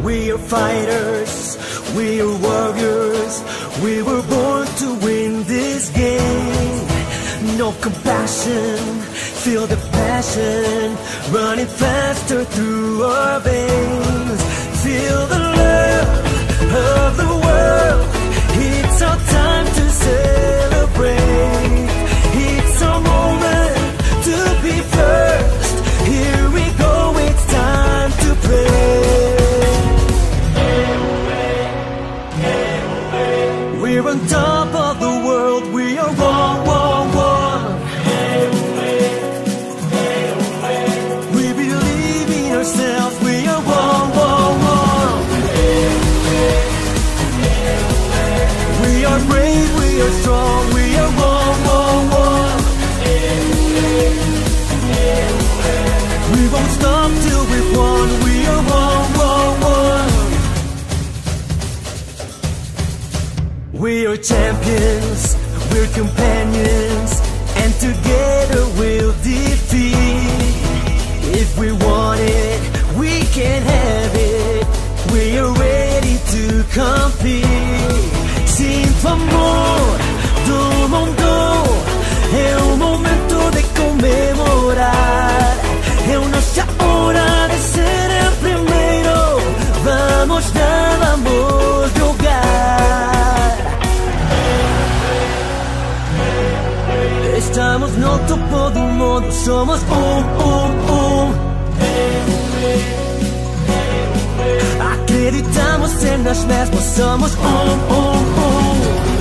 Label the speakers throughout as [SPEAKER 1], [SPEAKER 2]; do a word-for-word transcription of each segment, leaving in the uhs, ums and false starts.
[SPEAKER 1] We are fighters, we are warriors. We were born to win this game. No compassion, feel the passion running faster through our veins. Feel the love of the world. It's our time to celebrate. It's our moment to be first. Here we go, it's time to play. We're on top of the world, we are one, one, one. We believe in ourselves, we are one, one, one. We are brave, we are strong, we are one, one, one. We won't stop till we've won, we are one, one, one. We are champions, we're companions, and together we'll defeat. If we want it, we can have it. We are ready to compete. Sinto amor do mundo, é o momento de comemorar. É nossa hora de ser el primero. Vamos dar, vamos jogar. Estamos no topo do mundo, somos um, um, um. Acreditamos em nós mesmos, somos um, um, um.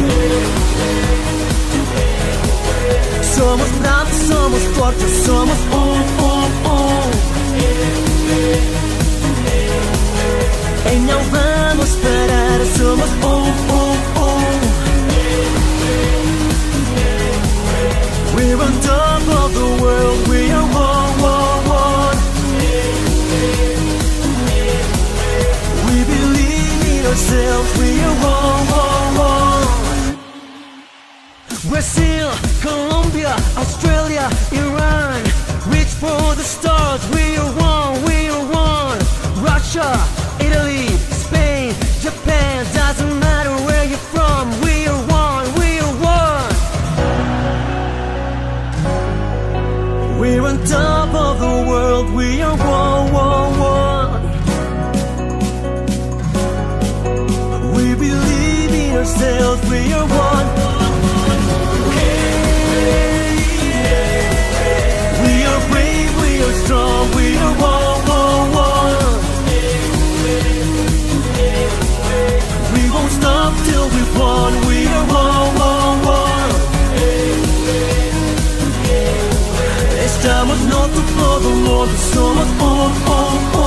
[SPEAKER 1] Somos bravos, somos fortes, somos um, um, um. E não vamos parar, somos um, um, um. We're on top of the world, we are one, one, one. We believe in ourselves, we are one, one, one. Brazil, Colombia, Australia, Iran. Reach for the stars, we are one, we are one. Russia, Italy, Spain, Japan. Doesn't matter where you're from, we are one, we are one. We're on top of the world, we are one, one, one. We believe in ourselves, we are one. We are brave, we are strong, we are one, one, one. We won't stop till we've won, we are one, one, one. Estamos no topo do mundo, somos um, um, um.